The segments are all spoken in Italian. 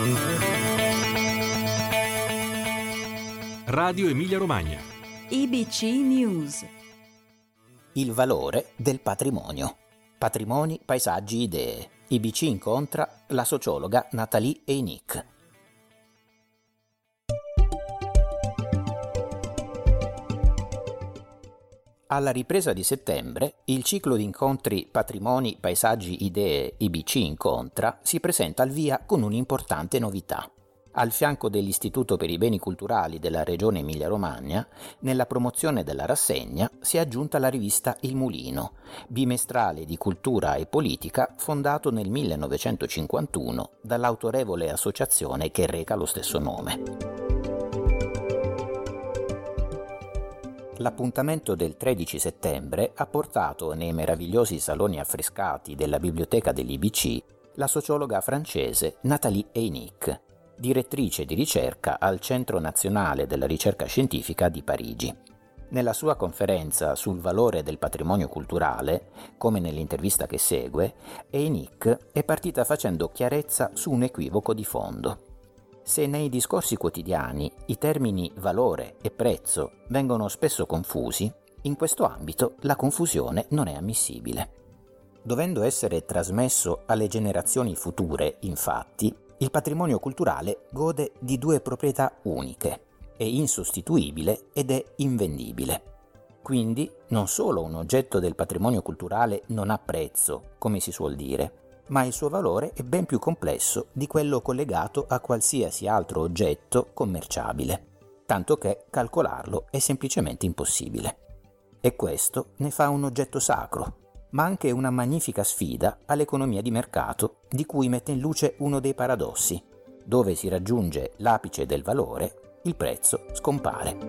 Radio Emilia Romagna. IBC News. Il valore del patrimonio. Patrimoni, paesaggi, idee. IBC incontra la sociologa Nathalie Eynick. Alla ripresa di settembre, il ciclo di incontri Patrimoni, paesaggi, idee IBC incontra si presenta al via con un'importante novità. Al fianco dell'Istituto per i Beni Culturali della Regione Emilia-Romagna, nella promozione della rassegna si è aggiunta la rivista Il Mulino, bimestrale di cultura e politica fondato nel 1951 dall'autorevole associazione che reca lo stesso nome. L'appuntamento del 13 settembre ha portato nei meravigliosi saloni affrescati della biblioteca dell'IBC la sociologa francese Nathalie Eynick, direttrice di ricerca al Centro Nazionale della Ricerca Scientifica di Parigi. Nella sua conferenza sul valore del patrimonio culturale, come nell'intervista che segue, Eynick è partita facendo chiarezza su un equivoco di fondo. Se nei discorsi quotidiani i termini valore e prezzo vengono spesso confusi, in questo ambito la confusione non è ammissibile. Dovendo essere trasmesso alle generazioni future, infatti, il patrimonio culturale gode di due proprietà uniche: è insostituibile ed è invendibile. Quindi non solo un oggetto del patrimonio culturale non ha prezzo, come si suol dire, ma il suo valore è ben più complesso di quello collegato a qualsiasi altro oggetto commerciabile, tanto che calcolarlo è semplicemente impossibile. E questo ne fa un oggetto sacro, ma anche una magnifica sfida all'economia di mercato, di cui mette in luce uno dei paradossi: dove si raggiunge l'apice del valore, il prezzo scompare.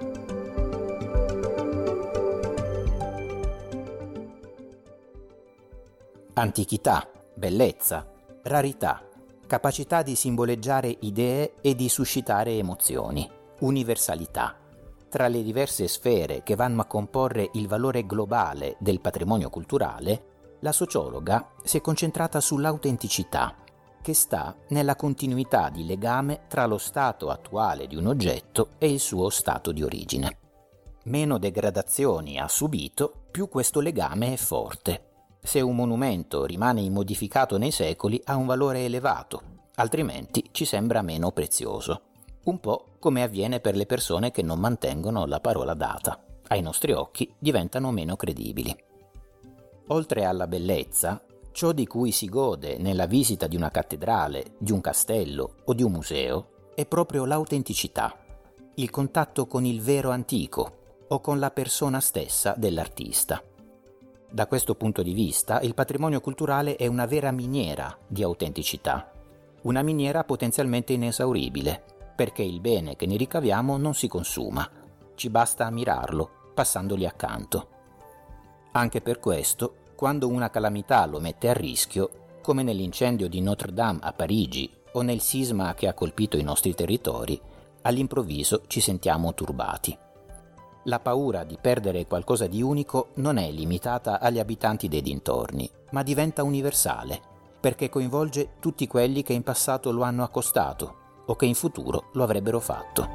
Antichità, bellezza, rarità, capacità di simboleggiare idee e di suscitare emozioni, universalità. Tra le diverse sfere che vanno a comporre il valore globale del patrimonio culturale, la sociologa si è concentrata sull'autenticità, che sta nella continuità di legame tra lo stato attuale di un oggetto e il suo stato di origine. Meno degradazioni ha subito, più questo legame è forte. Se un monumento rimane immodificato nei secoli ha un valore elevato, altrimenti ci sembra meno prezioso. Un po' come avviene per le persone che non mantengono la parola data. Ai nostri occhi diventano meno credibili. Oltre alla bellezza, ciò di cui si gode nella visita di una cattedrale, di un castello o di un museo è proprio l'autenticità, il contatto con il vero antico o con la persona stessa dell'artista. Da questo punto di vista, il patrimonio culturale è una vera miniera di autenticità, una miniera potenzialmente inesauribile, perché il bene che ne ricaviamo non si consuma, ci basta ammirarlo, passandogli accanto. Anche per questo, quando una calamità lo mette a rischio, come nell'incendio di Notre Dame a Parigi o nel sisma che ha colpito i nostri territori, all'improvviso ci sentiamo turbati. La paura di perdere qualcosa di unico non è limitata agli abitanti dei dintorni, ma diventa universale, perché coinvolge tutti quelli che in passato lo hanno accostato o che in futuro lo avrebbero fatto.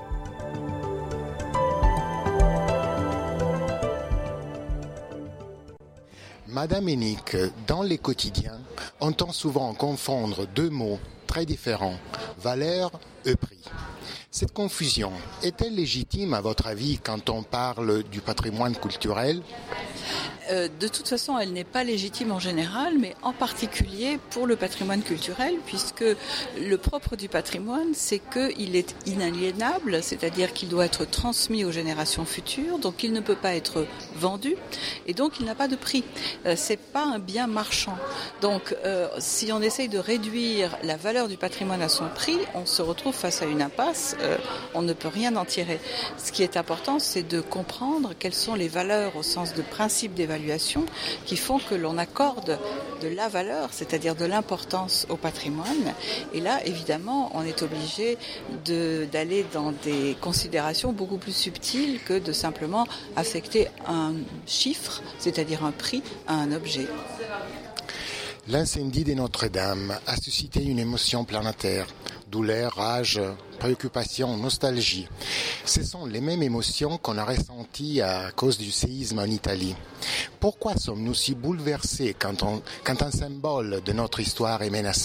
Madame Eynick, dans les quotidiens, on entend souvent confondre deux mots très différents, valeur et prix. Cette confusion est-elle légitime à votre avis quand on parle du patrimoine culturel ? De toute façon, elle n'est pas légitime en général, mais en particulier pour le patrimoine culturel, puisque le propre du patrimoine, c'est qu'il est inaliénable, c'est-à-dire qu'il doit être transmis aux générations futures, donc il ne peut pas être vendu, et donc il n'a pas de prix. C'est pas un bien marchand. Donc, si on essaye de réduire la valeur du patrimoine à son prix, on se retrouve face à une impasse, on ne peut rien en tirer. Ce qui est important, c'est de comprendre quelles sont les valeurs au sens de principe d'évaluation qui font que l'on accorde de la valeur, c'est-à-dire de l'importance au patrimoine. Et là, évidemment, on est obligé d'aller dans des considérations beaucoup plus subtiles que de simplement affecter un chiffre, c'est-à-dire un prix, à un objet. L'incendie de Notre-Dame a suscité une émotion planétaire. douleur, rage, préoccupation, nostalgie. Ce sont les mêmes émotions qu'on a ressenties à cause du séisme en Italie. Pourquoi sommes-nous si bouleversés quand un symbole de notre histoire est menacé ?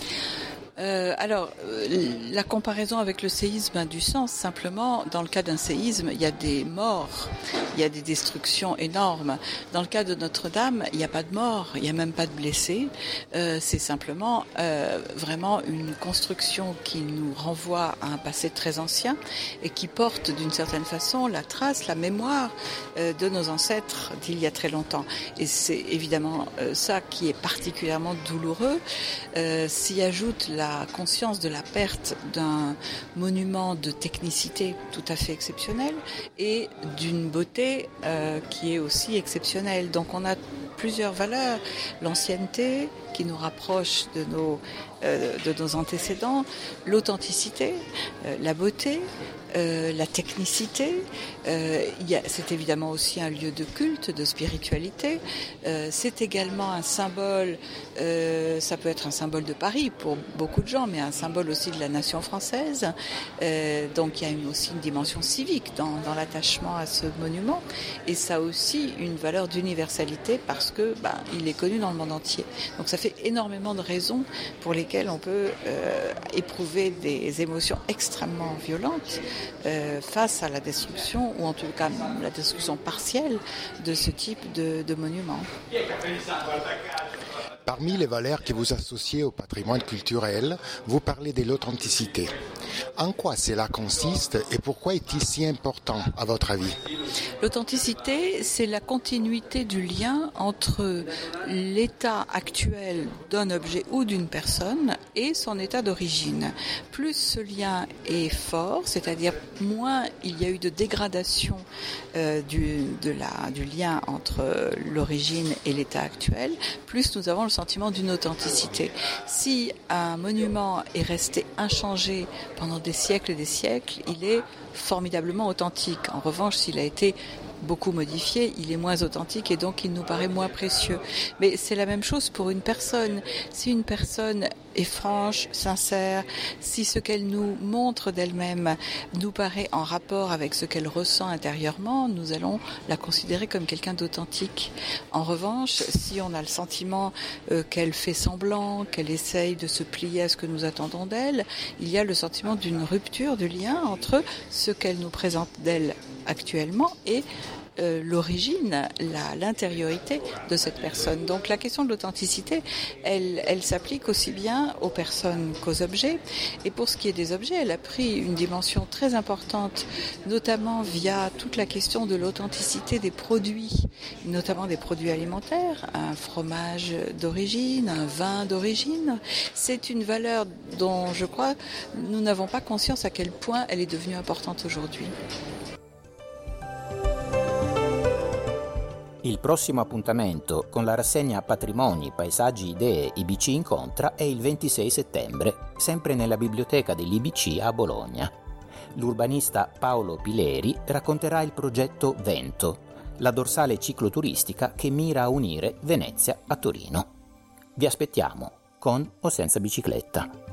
La comparaison avec le séisme a du sens. Simplement, dans le cas d'un séisme, il y a des morts, il y a des destructions énormes. Dans le cas de Notre-Dame, il n'y a pas de morts, il n'y a même pas de blessés. C'est simplement vraiment une construction qui nous renvoie à un passé très ancien et qui porte d'une certaine façon la trace, la mémoire de nos ancêtres d'il y a très longtemps. Et c'est évidemment ça qui est particulièrement douloureux. S'y ajoute la conscience de la perte d'un monument de technicité tout à fait exceptionnel et d'une beauté qui est aussi exceptionnelle. Donc on a plusieurs valeurs, l'ancienneté qui nous rapproche de nos antécédents, l'authenticité, la beauté, la technicité. C'est évidemment aussi un lieu de culte, de spiritualité. C'est également un symbole, ça peut être un symbole de Paris pour beaucoup de gens, mais un symbole aussi de la nation française. Donc il y a aussi une dimension civique dans l'attachement à ce monument. Et ça a aussi une valeur d'universalité parce que il est connu dans le monde entier. Donc ça fait énormément de raisons pour lesquelles on peut éprouver des émotions extrêmement violentes face à la destruction, ou en tout cas la destruction partielle de ce type de monument. Parmi les valeurs que vous associez au patrimoine culturel, vous parlez de l'authenticité. En quoi cela consiste et pourquoi est-il si important à votre avis ? L'authenticité, c'est la continuité du lien entre l'état actuel d'un objet ou d'une personne et son état d'origine. Plus ce lien est fort, c'est-à-dire moins il y a eu de dégradation du lien entre l'origine et l'état actuel, plus nous avons le sentiment d'une authenticité. Si un monument est resté inchangé pendant des siècles et des siècles, il est formidablement authentique. En revanche, s'il a été beaucoup modifié, il est moins authentique et donc il nous paraît moins précieux. Mais c'est la même chose pour une personne. Si une personne est franche, sincère, si ce qu'elle nous montre d'elle-même nous paraît en rapport avec ce qu'elle ressent intérieurement, nous allons la considérer comme quelqu'un d'authentique. En revanche, si on a le sentiment qu'elle fait semblant, qu'elle essaye de se plier à ce que nous attendons d'elle, il y a le sentiment d'une rupture du lien entre ce qu'elle nous présente d'elle actuellement et l'origine, l'intériorité de cette personne. Donc la question de l'authenticité, elle s'applique aussi bien aux personnes qu'aux objets. Et pour ce qui est des objets, elle a pris une dimension très importante, notamment via toute la question de l'authenticité des produits, notamment des produits alimentaires, un fromage d'origine, un vin d'origine. C'est une valeur dont je crois nous n'avons pas conscience à quel point elle est devenue importante aujourd'hui. Il prossimo appuntamento con la rassegna Patrimoni, Paesaggi, Idee IBC Incontra è il 26 settembre, sempre nella biblioteca dell'IBC a Bologna. L'urbanista Paolo Pileri racconterà il progetto Vento, la dorsale cicloturistica che mira a unire Venezia a Torino. Vi aspettiamo, con o senza bicicletta.